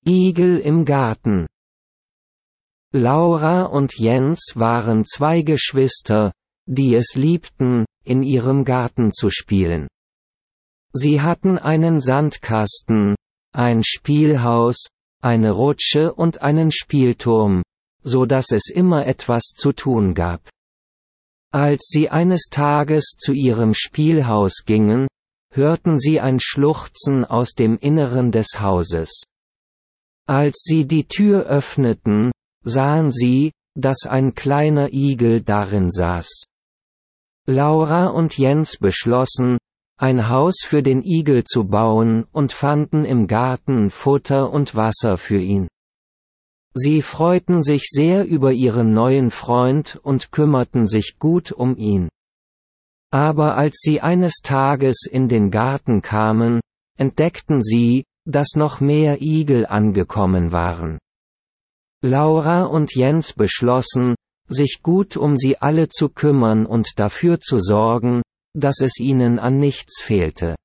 Igel im Garten. Laura und Jens waren zwei Geschwister, die es liebten, in ihrem Garten zu spielen. Sie hatten einen Sandkasten, ein Spielhaus, eine Rutsche und einen Spielturm, so dass es immer etwas zu tun gab. Als sie eines Tages zu ihrem Spielhaus gingen, hörten sie ein Schluchzen aus dem Inneren des Hauses. Als sie die Tür öffneten, sahen sie, dass ein kleiner Igel darin saß. Laura und Jens beschlossen, ein Haus für den Igel zu bauen und fanden im Garten Futter und Wasser für ihn. Sie freuten sich sehr über ihren neuen Freund und kümmerten sich gut um ihn. Aber als sie eines Tages in den Garten kamen, entdeckten sie, dass noch mehr Igel angekommen waren. Laura und Jens beschlossen, sich gut um sie alle zu kümmern und dafür zu sorgen, dass es ihnen an nichts fehlte.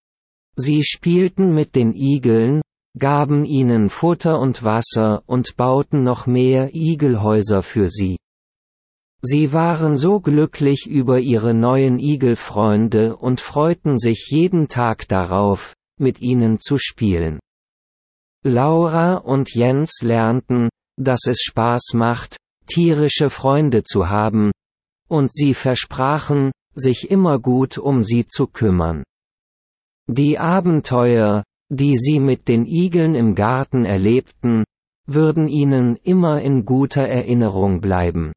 Sie spielten mit den Igeln, gaben ihnen Futter und Wasser und bauten noch mehr Igelhäuser für sie. Sie waren so glücklich über ihre neuen Igelfreunde und freuten sich jeden Tag darauf, mit ihnen zu spielen. Laura und Jens lernten, dass es Spaß macht, tierische Freunde zu haben, und sie versprachen, sich immer gut um sie zu kümmern. Die Abenteuer, die sie mit den Igeln im Garten erlebten, würden ihnen immer in guter Erinnerung bleiben.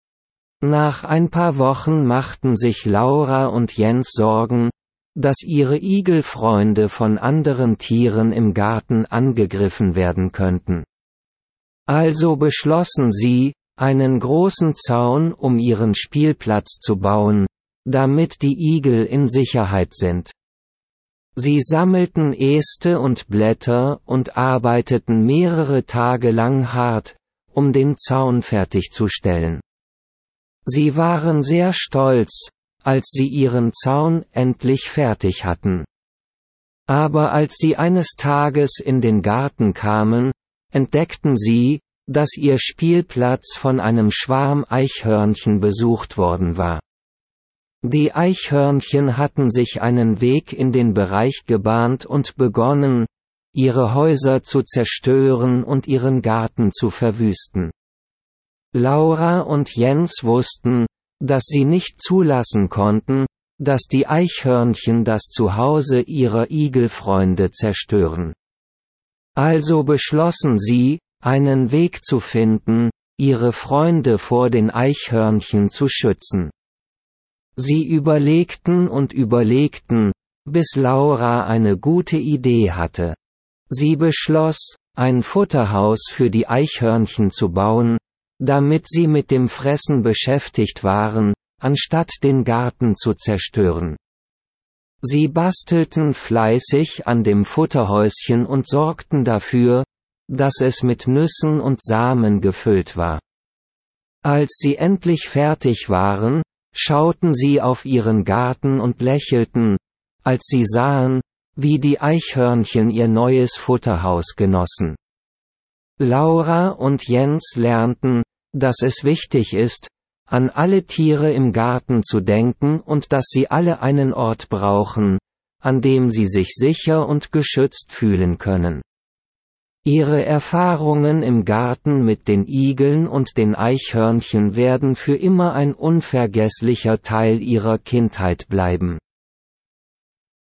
Nach ein paar Wochen machten sich Laura und Jens Sorgen, dass ihre Igelfreunde von anderen Tieren im Garten angegriffen werden könnten. Also beschlossen sie, einen großen Zaun um ihren Spielplatz zu bauen, damit die Igel in Sicherheit sind. Sie sammelten Äste und Blätter und arbeiteten mehrere Tage lang hart, um den Zaun fertigzustellen. Sie waren sehr stolz, als sie ihren Zaun endlich fertig hatten. Aber als sie eines Tages in den Garten kamen, entdeckten sie, dass ihr Spielplatz von einem Schwarm Eichhörnchen besucht worden war. Die Eichhörnchen hatten sich einen Weg in den Bereich gebahnt und begonnen, ihre Häuser zu zerstören und ihren Garten zu verwüsten. Laura und Jens wussten, dass sie nicht zulassen konnten, dass die Eichhörnchen das Zuhause ihrer Igelfreunde zerstören. Also beschlossen sie, einen Weg zu finden, ihre Freunde vor den Eichhörnchen zu schützen. Sie überlegten und überlegten, bis Laura eine gute Idee hatte. Sie beschloss, ein Futterhaus für die Eichhörnchen zu bauen, damit sie mit dem Fressen beschäftigt waren, anstatt den Garten zu zerstören. Sie bastelten fleißig an dem Futterhäuschen und sorgten dafür, dass es mit Nüssen und Samen gefüllt war. Als sie endlich fertig waren, schauten sie auf ihren Garten und lächelten, als sie sahen, wie die Eichhörnchen ihr neues Futterhaus genossen. Laura und Jens lernten, dass es wichtig ist, an alle Tiere im Garten zu denken und dass sie alle einen Ort brauchen, an dem sie sich sicher und geschützt fühlen können. Ihre Erfahrungen im Garten mit den Igeln und den Eichhörnchen werden für immer ein unvergesslicher Teil ihrer Kindheit bleiben.